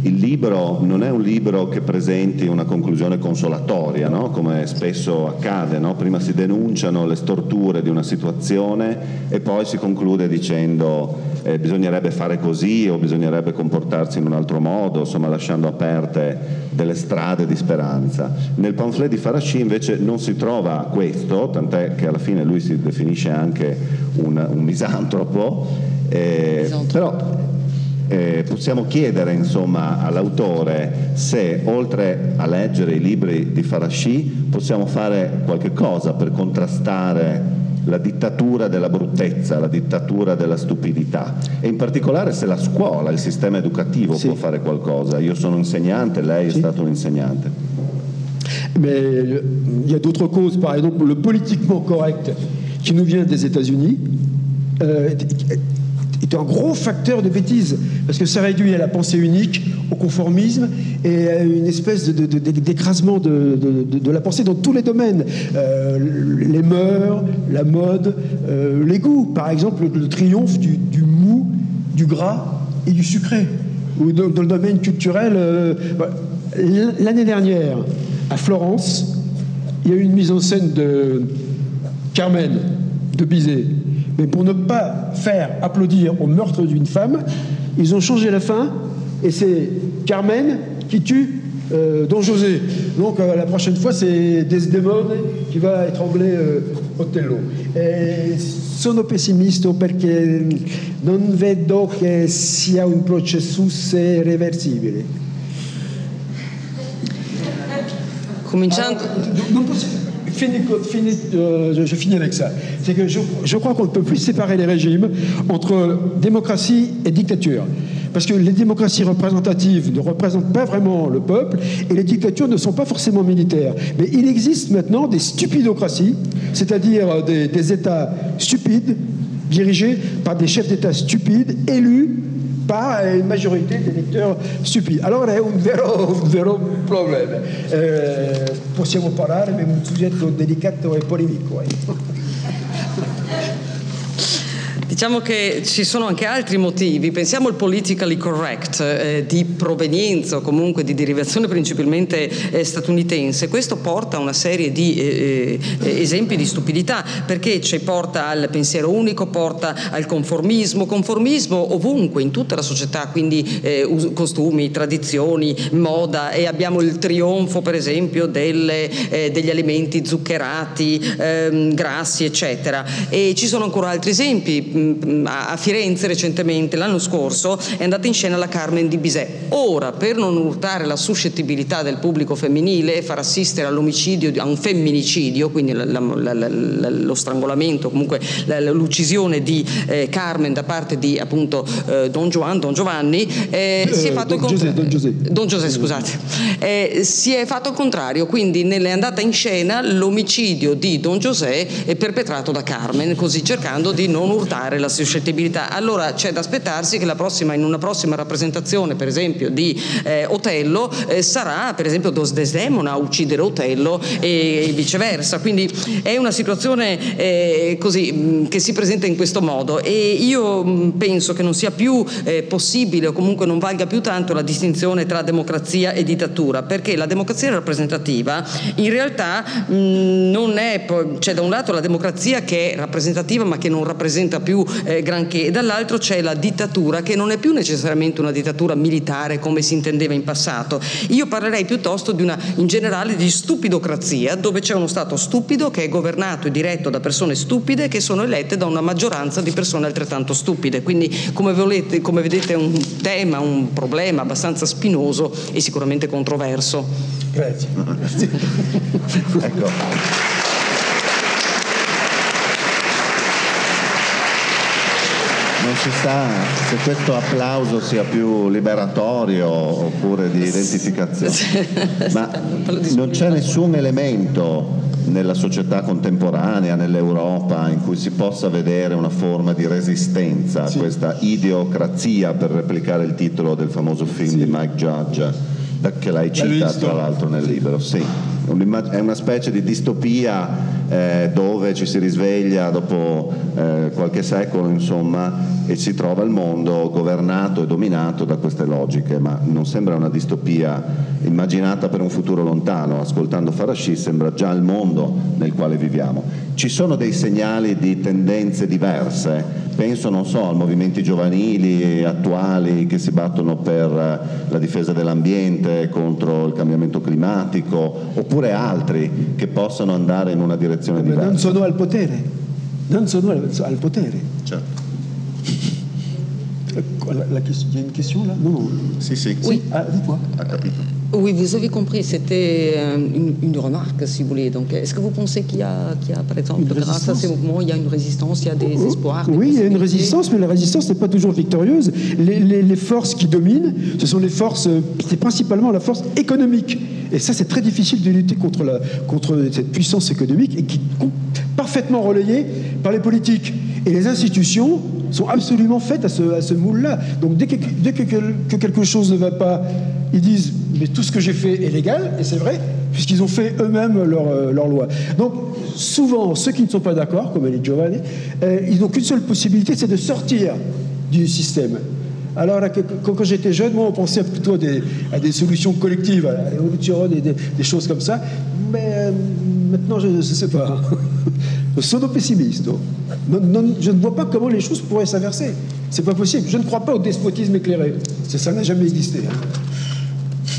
il libro non è un libro che presenti una conclusione consolatoria, no? Come spesso accade, no? Prima si denunciano le storture di una situazione e poi si conclude dicendo eh, bisognerebbe fare così o bisognerebbe comportarsi in un altro modo, insomma lasciando aperte delle strade di speranza. Nel pamphlet di Faraci invece non si trova questo, tant'è che alla fine lui si definisce anche un, un misantropo, eh, però Eh, possiamo chiedere insomma all'autore se oltre a leggere i libri di Faraci possiamo fare qualche cosa per contrastare la dittatura della bruttezza, la dittatura della stupidità, e in particolare se la scuola, il sistema educativo sì. può fare qualcosa. Io sono insegnante, lei sì. è stato un insegnante. Mais il y a d'autres causes, par exemple le politiquement correct qui nous vient des États-Unis euh, est un gros facteur de bêtise, parce que ça réduit à la pensée unique, au conformisme et à une espèce de, de, de, d'écrasement de, de, de, de la pensée dans tous les domaines, euh, les mœurs, la mode, euh, les goûts. Par exemple, le, le triomphe du, du mou, du gras et du sucré. Ou dans, dans le domaine culturel, euh, l'année dernière, à Florence, il y a eu une mise en scène de Carmen de Bizet. Mais pour ne pas faire applaudir au meurtre d'une femme, ils ont changé la fin et c'est Carmen qui tue euh, Don José. Donc euh, la prochaine fois c'est Desdemone qui va étrangler euh, Otello. E sono pessimisto perché non vedo che sia un processo reversibile. Cominciando... Alors, non possiamo... Fini, fini, euh, je, je finis avec ça. C'est que je, je crois qu'on ne peut plus séparer les régimes entre démocratie et dictature. Parce que les démocraties représentatives ne représentent pas vraiment le peuple et les dictatures ne sont pas forcément militaires. Mais il existe maintenant des stupidocraties, c'est-à-dire des, des États stupides, dirigés par des chefs d'État stupides, élus par une majorité di elettori stupidi. Allora è un vero, un vero problema. Eh, possiamo parlare di un soggetto delicato e polemico. Eh. Diciamo che ci sono anche altri motivi. Pensiamo al politically correct eh, di provenienza o comunque di derivazione principalmente eh, statunitense. Questo porta a una serie di eh, eh, esempi di stupidità, perché ci porta al pensiero unico, porta al conformismo, conformismo ovunque in tutta la società, quindi eh, costumi, tradizioni, moda, e abbiamo il trionfo per esempio delle, eh, degli alimenti zuccherati, eh, grassi eccetera, e ci sono ancora altri esempi. A Firenze recentemente, l'anno scorso, è andata in scena la Carmen di Bizet. Ora, per non urtare la suscettibilità del pubblico femminile e far assistere all'omicidio, a un femminicidio, quindi la, la, la, la, lo strangolamento, comunque la, l'uccisione di eh, Carmen da parte di appunto eh, Don Juan, Don Giovanni, eh, si è fatto Don, Giuseppe, Don Giuseppe, Don Giuseppe, scusate, eh, si è fatto il contrario, quindi è andata in scena l'omicidio di Don Giuseppe perpetrato da Carmen, così cercando di non urtare la suscettibilità. Allora c'è da aspettarsi che la prossima, in una prossima rappresentazione per esempio di eh, Otello eh, sarà per esempio Desdemona a uccidere Otello e viceversa, quindi è una situazione eh, così mh, che si presenta in questo modo, e io mh, penso che non sia più eh, possibile, o comunque non valga più tanto la distinzione tra democrazia e dittatura, perché la democrazia rappresentativa in realtà mh, non è, c'è da un lato la democrazia che è rappresentativa ma che non rappresenta più Eh, granché, e dall'altro c'è la dittatura, che non è più necessariamente una dittatura militare come si intendeva in passato. Io parlerei piuttosto di una, in generale, di stupidocrazia, dove c'è uno Stato stupido che è governato e diretto da persone stupide che sono elette da una maggioranza di persone altrettanto stupide. Quindi come, volete, come vedete è un tema, un problema abbastanza spinoso e sicuramente controverso. Grazie. Ecco. Non si sa se questo applauso sia più liberatorio oppure di identificazione, ma non c'è nessun elemento nella società contemporanea, nell'Europa, in cui si possa vedere una forma di resistenza a sì. questa idiocrazia, per replicare il titolo del famoso film sì. di Mike Judge, che lei cita tra l'altro nel libro. Sì. È una specie di distopia eh, dove dove ci si risveglia dopo eh, qualche secolo, insomma, e si trova il mondo governato e dominato da queste logiche, ma non sembra una distopia immaginata per un futuro lontano. Ascoltando Farrachy sembra già il mondo nel quale viviamo. Ci sono dei segnali di tendenze diverse, penso, non so, a movimenti giovanili attuali che si battono per la difesa dell'ambiente, contro il cambiamento climatico, oppure altri che possano andare in una direzione Ma diversa. non sono al potere, non sono al, al potere. Certo. La, la, il y a une question là? Non, non. Si, si. Oui. Ah, dis-toi. Ha capito. Oui, vous avez compris, c'était une, une remarque, si vous voulez. Donc, est-ce que vous pensez qu'il y a, qu'il y a par exemple, Une grâce à ces mouvements, il y a une résistance, il y a des Oh, espoirs? Des oui, il y a une possibilités? résistance, mais la résistance n'est pas toujours victorieuse. Les, les, les forces qui dominent, ce sont les forces, c'est principalement la force économique. Et ça, c'est très difficile de lutter contre, la, contre cette puissance économique, et qui est parfaitement relayée par les politiques. Et les institutions sont absolument faites à ce, à ce moule-là. Donc dès, que, dès que, que quelque chose ne va pas, ils disent « mais tout ce que j'ai fait est légal », et c'est vrai, puisqu'ils ont fait eux-mêmes leur, leur loi. Donc souvent, ceux qui ne sont pas d'accord, comme les Giovanni, euh, ils n'ont qu'une seule possibilité, c'est de sortir du système. Alors là, quand, quand j'étais jeune, moi, on pensait plutôt à des, à des solutions collectives, à l'évolution, des, des, des choses comme ça. Mais euh, maintenant, je ne sais pas. Sono pessimiste. Non, non, je ne vois pas comment les choses pourraient s'inverser. C'est pas possible. Je ne crois pas au despotisme éclairé. Ça, ça n'a jamais existé. Hein.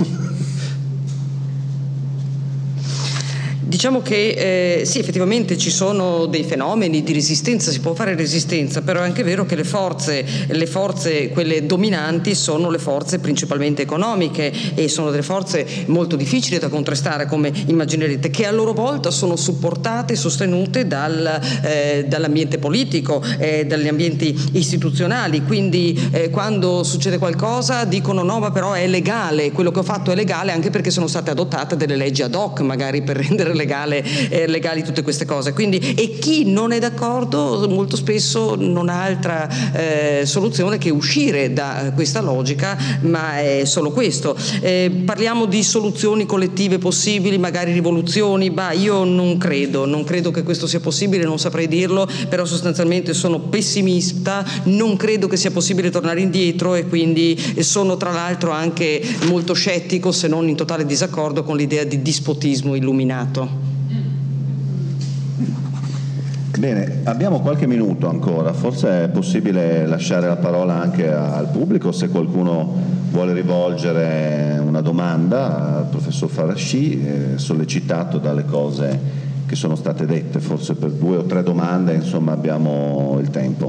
Diciamo che eh, sì, effettivamente ci sono dei fenomeni di resistenza, si può fare resistenza, però è anche vero che le forze, le forze, quelle dominanti, sono le forze principalmente economiche e sono delle forze molto difficili da contrastare, come immaginerete, che a loro volta sono supportate e sostenute dal, eh, dall'ambiente politico, eh, dagli ambienti istituzionali. Quindi eh, quando succede qualcosa dicono no, ma però è legale, quello che ho fatto è legale, anche perché sono state adottate delle leggi ad hoc, magari per rendere legale, eh, legali tutte queste cose. Quindi, e chi non è d'accordo molto spesso non ha altra eh, soluzione che uscire da questa logica, ma è solo questo. Eh, parliamo di soluzioni collettive possibili, magari rivoluzioni, bah, io non credo, non credo che questo sia possibile, non saprei dirlo, però sostanzialmente sono pessimista, non credo che sia possibile tornare indietro e quindi sono tra l'altro anche molto scettico, se non in totale disaccordo con l'idea di dispotismo illuminato. Bene, abbiamo qualche minuto ancora, forse è possibile lasciare la parola anche al pubblico se qualcuno vuole rivolgere una domanda al professor Farrachy, eh, sollecitato dalle cose che sono state dette. Forse per due o tre domande, insomma, abbiamo il tempo.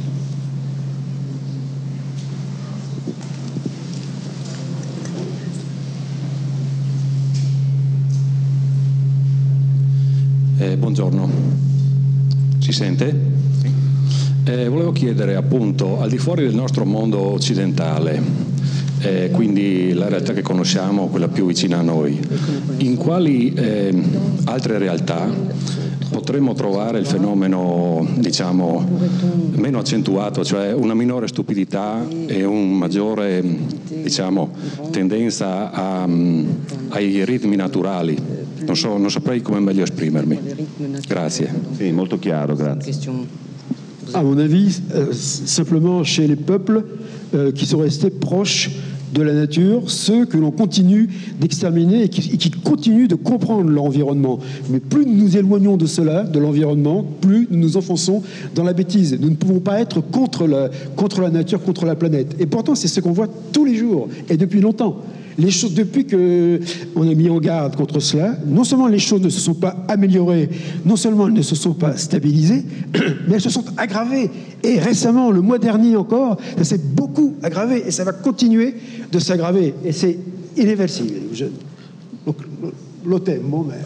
Eh, buongiorno, si sente? Eh, volevo chiedere appunto, al di fuori del nostro mondo occidentale, eh, quindi la realtà che conosciamo, quella più vicina a noi, in quali eh, altre realtà potremmo trovare il fenomeno, diciamo, meno accentuato, cioè una minore stupidità e un maggiore, diciamo, tendenza a, ai ritmi naturali? Non so, non saprei come meglio esprimermi. Grazie. Sì, molto chiaro, grazie. À mon avis, euh, simplement chez les peuples euh, qui sont restés proches de la nature, ceux que l'on continue d'exterminer et qui, et qui continuent de comprendre leur environnement. Mais plus nous nous éloignons de cela, de l'environnement, plus nous nous enfonçons dans la bêtise. Nous ne pouvons pas être contre la, contre la nature, contre la planète. Et pourtant, c'est ce qu'on voit tous les jours et depuis longtemps. Les choses, depuis qu'on a mis en garde contre cela, non seulement les choses ne se sont pas améliorées, non seulement elles ne se sont pas stabilisées, mais elles se sont aggravées. Et récemment, le mois dernier encore, ça s'est beaucoup aggravé et ça va continuer de s'aggraver. Et c'est irréversible. Je, donc, lo temo, mais...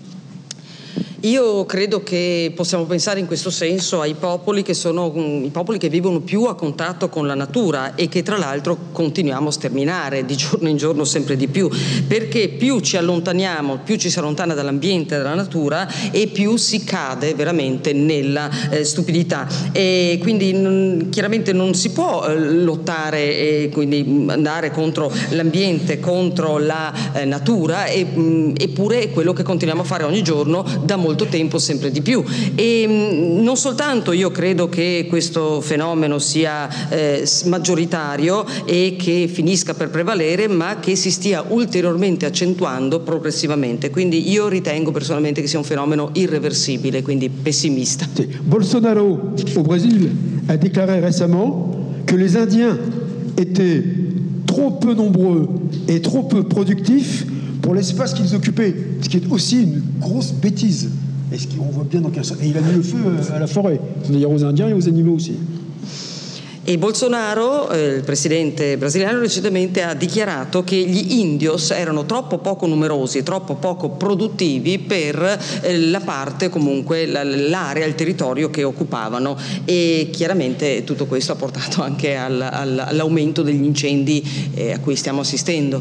Io credo che possiamo pensare in questo senso ai popoli che sono i popoli che vivono più a contatto con la natura e che tra l'altro continuiamo a sterminare di giorno in giorno sempre di più, perché più ci allontaniamo, più ci si allontana dall'ambiente, dalla natura e più si cade veramente nella eh, stupidità. E quindi non, chiaramente non si può eh, lottare e quindi andare contro l'ambiente, contro la eh, natura, e, mh, eppure è quello che continuiamo a fare ogni giorno da molto molto tempo sempre di più. E mh, non soltanto io credo che questo fenomeno sia eh, maggioritario e che finisca per prevalere, ma che si stia ulteriormente accentuando progressivamente. Quindi io ritengo personalmente che sia un fenomeno irreversibile, quindi pessimista. Sì. Bolsonaro au Brésil a déclaré récemment que les Indiens étaient trop peu nombreux et trop peu productifs pour l'espace qu'ils occupaient, ce qui est aussi une grosse bêtise. Et ce qu'on voit bien dans quel sens. Et il a mis le feu à la forêt, c'est-à-dire aux Indiens et aux animaux aussi. E Bolsonaro, eh, il presidente brasiliano, recentemente ha dichiarato che gli indios erano troppo poco numerosi, troppo poco produttivi per eh, la parte, comunque la, l'area, il territorio che occupavano, e chiaramente tutto questo ha portato anche al, al, all'aumento degli incendi eh, a cui stiamo assistendo.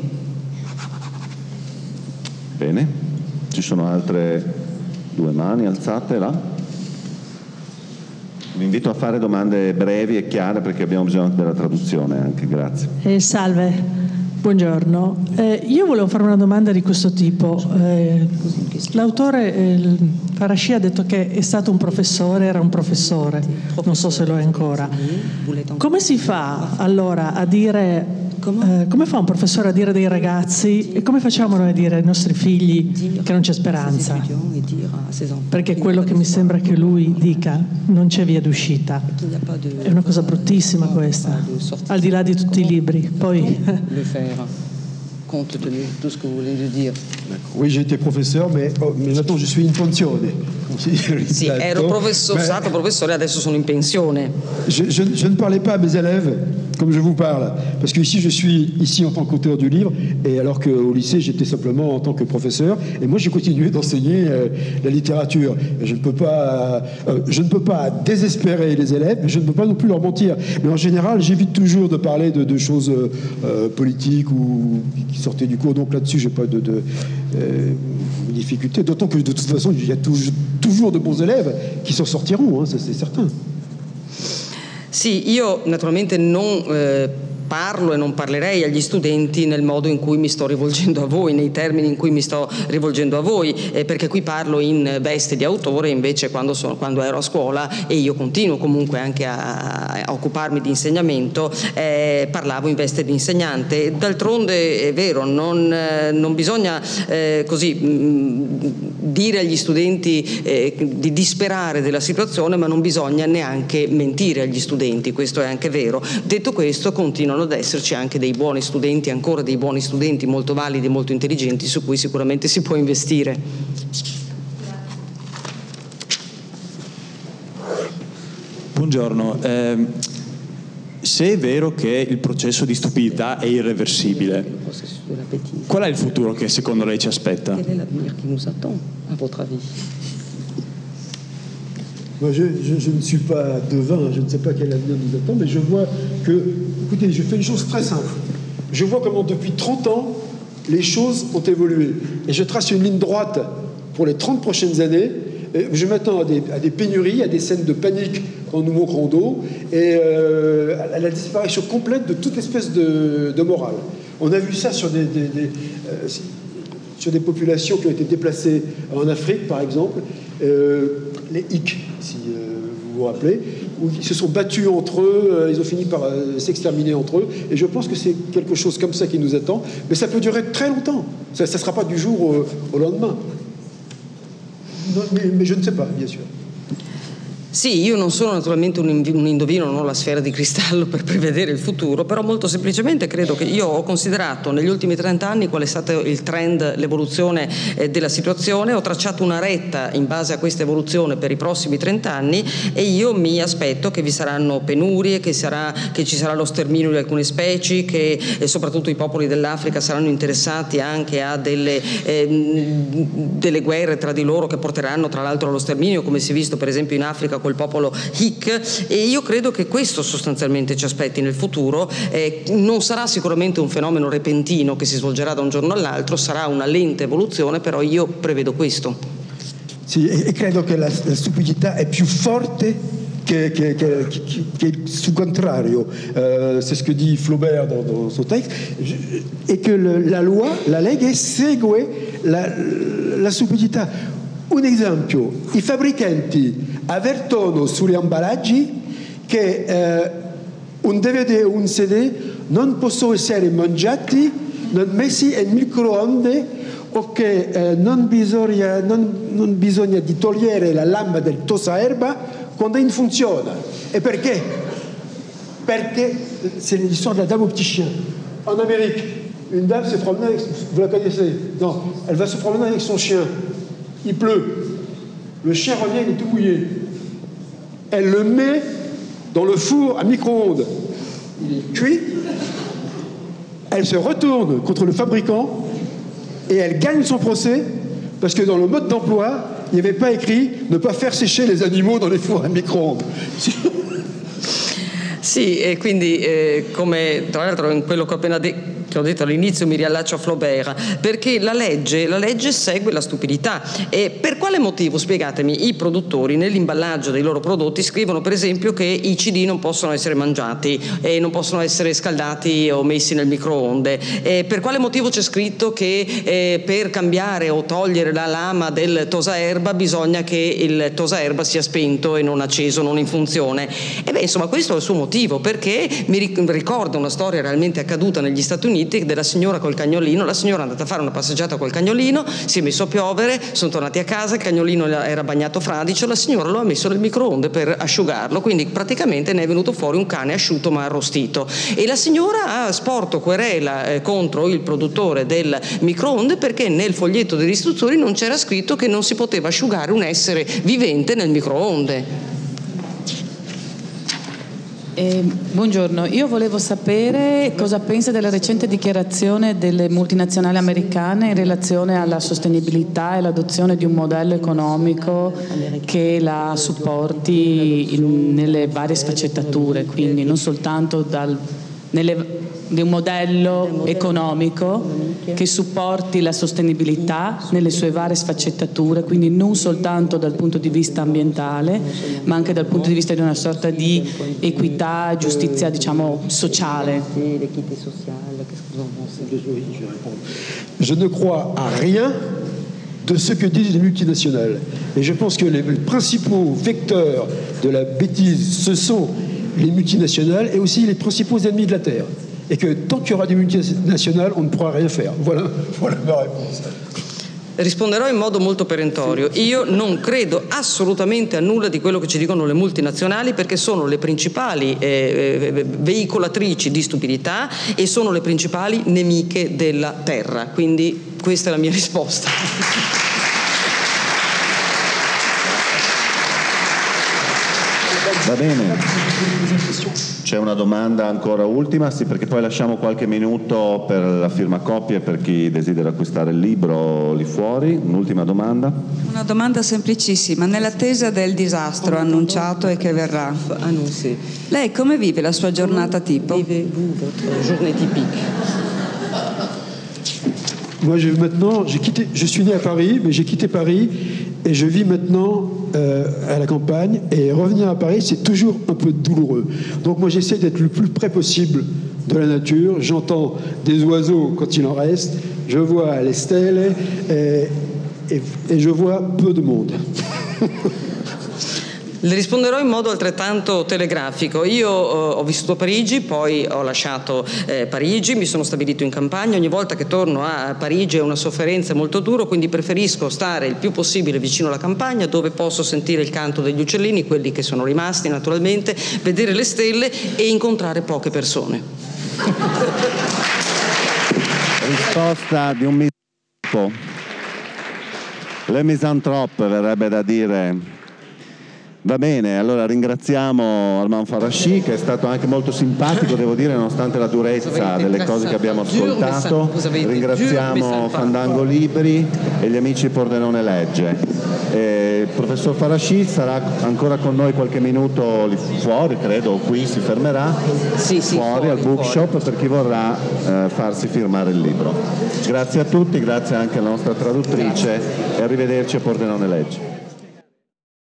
Bene, ci sono altre due mani alzate là. Vi invito a fare domande brevi e chiare perché abbiamo bisogno della traduzione anche, grazie. Eh, salve, buongiorno. Eh, io volevo fare una domanda di questo tipo. Eh, l'autore eh, Farrasci ha detto che è stato un professore, era un professore, non so se lo è ancora. Come si fa allora a dire... Eh, come fa un professore a dire dei ragazzi e come facciamo noi a dire ai nostri figli che non c'è speranza? Perché quello che mi sembra che lui dica non c'è via d'uscita. È una cosa bruttissima questa, al di là di tutti i libri. Poi compte tenu de tout ce que vous venez de dire. Oui, j'ai été professeur, mais, oh, mais maintenant je suis in pensione. Sì, ero professor, mais, stato professore, adesso sono in pensione. Je, je, je ne parlais pas à mes élèves comme je vous parle, parce que ici je suis ici en tant qu'auteur du livre, et alors qu'au lycée j'étais simplement en tant que professeur, et moi j'ai continué d'enseigner euh, la littérature. Et je ne peux pas, euh, je ne peux pas désespérer les élèves, mais je ne peux pas non plus leur mentir. Mais en général, j'évite toujours de parler de, de choses euh, politiques ou qui sortaient du cours. Donc là-dessus, j'ai pas de, de euh, difficulté. D'autant que de toute façon, il y a toujours, toujours de bons élèves qui s'en sortiront, hein, ça c'est certain. Sì, io naturalmente non eh, parlo e non parlerei agli studenti nel modo in cui mi sto rivolgendo a voi, nei termini in cui mi sto rivolgendo a voi, eh, perché qui parlo in veste di autore, invece quando, sono, quando ero a scuola, e io continuo comunque anche a, a occuparmi di insegnamento, eh, parlavo in veste di insegnante. D'altronde è vero, non, eh, non bisogna eh, così mh, dire agli studenti eh, di disperare della situazione, ma non bisogna neanche mentire agli studenti, questo è anche vero. Detto questo, continuano ad esserci anche dei buoni studenti, ancora dei buoni studenti molto validi e molto intelligenti su cui sicuramente si può investire. Buongiorno, eh, se è vero che il processo di stupidità è irreversibile, qual è il futuro che secondo lei ci aspetta? Quel est l'avenir qui nous attend, à votre avis? Moi, je, je, je ne suis pas devin, je ne sais pas quel avenir nous attend, mais je vois que, écoutez, je fais une chose très simple. Je vois comment depuis trente ans, les choses ont évolué. Et je trace une ligne droite pour les trente prochaines années. Et je m'attends à des, à des pénuries, à des scènes de panique quand nous manquerons d'eau, et euh, à la disparition complète de toute espèce de, de morale. On a vu ça sur des, des, des, euh, sur des populations qui ont été déplacées en Afrique, par exemple. Euh, les Hicks, si euh, vous vous rappelez, où ils se sont battus entre eux, euh, ils ont fini par euh, s'exterminer entre eux, et je pense que c'est quelque chose comme ça qui nous attend, mais ça peut durer très longtemps, ça ne sera pas du jour au, au lendemain. Non, mais, mais je ne sais pas, bien sûr. Sì, io non sono naturalmente un, un indovino, non ho la sfera di cristallo per prevedere il futuro, però molto semplicemente credo che io ho considerato negli ultimi trent'anni qual è stato il trend, l'evoluzione eh, della situazione, ho tracciato una retta in base a questa evoluzione per i prossimi trent'anni, e io mi aspetto che vi saranno penurie, che, sarà, che ci sarà lo sterminio di alcune specie, che eh, soprattutto i popoli dell'Africa saranno interessati anche a delle, eh, delle guerre tra di loro che porteranno tra l'altro allo sterminio, come si è visto per esempio in Africa col popolo Hick, e io credo che questo sostanzialmente ci aspetti nel futuro. Eh, non sarà sicuramente un fenomeno repentino che si svolgerà da un giorno all'altro, sarà una lenta evoluzione, però io prevedo questo. Sì, e credo che la, la stupidità è più forte che, che, che, che, che il suo contrario. Euh, c'est ce que dit Flaubert dans, dans son texte, et que le, la loi, la legge segue la, la stupidità. un esempio, i fabbricanti avvertono sugli imballaggi che eh, un D V D o un C D non possono essere mangiati, non messi in microonde, o che eh, non, bisogna, non, non bisogna di togliere la lama del tosaerba quando non funziona. E perché? Perché c'est l'histoire de la dame au petit chien. En Amérique, une dame s'est promenée avec, vous la connaissez? Non, elle va se promener avec son chien. Il pleut. Le chien revient, il est tout mouillé. Elle le met dans le four à micro-ondes. Il est cuit. Elle se retourne contre le fabricant et elle gagne son procès parce que dans le mode d'emploi, il n'y avait pas écrit ne pas faire sécher les animaux dans les fours à micro-ondes. Sì, e quindi eh, come tra l'altro in quello che ho appena detto, che ho detto all'inizio, mi riallaccio a Flaubert, perché la legge, la legge segue la stupidità. E per quale motivo, spiegatemi, i produttori nell'imballaggio dei loro prodotti scrivono per esempio che i C D non possono essere mangiati e non possono essere scaldati o messi nel microonde? E per quale motivo c'è scritto che eh, per cambiare o togliere la lama del tosaerba bisogna che il tosaerba sia spento e non acceso, non in funzione? E beh, insomma, questo è il suo motivo, perché mi ricorda una storia realmente accaduta negli Stati Uniti della signora col cagnolino. La signora è andata a fare una passeggiata col cagnolino, si è messo a piovere, sono tornati a casa, il cagnolino era bagnato fradicio, la signora lo ha messo nel microonde per asciugarlo, quindi praticamente ne è venuto fuori un cane asciutto ma arrostito, e la signora ha sporto querela eh, contro il produttore del microonde perché nel foglietto delle istruzioni non c'era scritto che non si poteva asciugare un essere vivente nel microonde. Eh, buongiorno, io volevo sapere cosa pensa della recente dichiarazione delle multinazionali americane in relazione alla sostenibilità e l'adozione di un modello economico che la supporti in, nelle varie sfaccettature, quindi non soltanto dal, nelle, di un modello economico che supporti la sostenibilità nelle sue varie sfaccettature, quindi non soltanto dal punto di vista ambientale, ma anche dal punto di vista di una sorta di equità, giustizia, diciamo, sociale. Je ne crois à rien de ce que disent les multinationales. Et je pense que les principaux vecteurs de la bêtise, ce sont les multinationales et aussi les principaux ennemis de la Terre. Et que tant qu'il y aura des multinationales, on ne pourra rien faire. Voilà, voilà ma réponse. Risponderò in modo molto perentorio. Io non credo assolutamente a nulla di quello che ci dicono le multinazionali, perché sono le principali eh, veicolatrici di stupidità e sono le principali nemiche della terra. Quindi questa è la mia risposta. Va bene. C'è una domanda ancora ultima, sì, perché poi lasciamo qualche minuto per la firma copie per chi desidera acquistare il libro lì fuori. Un'ultima domanda. Una domanda semplicissima. Nell'attesa del disastro annunciato e che verrà, lei come vive la sua giornata tipo? Journée typique. Moi, je, maintenant, j'ai quitté, je suis né à Paris, mais j'ai quitté Paris et je vis maintenant euh, à la campagne. Et revenir à Paris, c'est toujours un peu douloureux. Donc moi, j'essaie d'être le plus près possible de la nature. J'entends des oiseaux quand il en reste. Je vois les stèles et, et, et je vois peu de monde. Le risponderò in modo altrettanto telegrafico. Io eh, ho vissuto a Parigi, poi ho lasciato eh, Parigi, mi sono stabilito in campagna. Ogni volta che torno a Parigi è una sofferenza molto dura, quindi preferisco stare il più possibile vicino alla campagna, dove posso sentire il canto degli uccellini, quelli che sono rimasti naturalmente, vedere le stelle e incontrare poche persone. Risposta di un misantropo. Le misantrope verrebbe da dire. Va bene, allora ringraziamo Armand Farrachy, che è stato anche molto simpatico, devo dire, nonostante la durezza delle cose che abbiamo ascoltato. Ringraziamo Fandango Libri e gli amici di Pordenone Legge. Eh, il professor Farrachy sarà ancora con noi qualche minuto lì fuori, credo, o qui si fermerà, sì, sì, fuori, fuori al bookshop fuori. Per chi vorrà eh, farsi firmare il libro. Grazie a tutti, grazie anche alla nostra traduttrice e arrivederci a Pordenone Legge.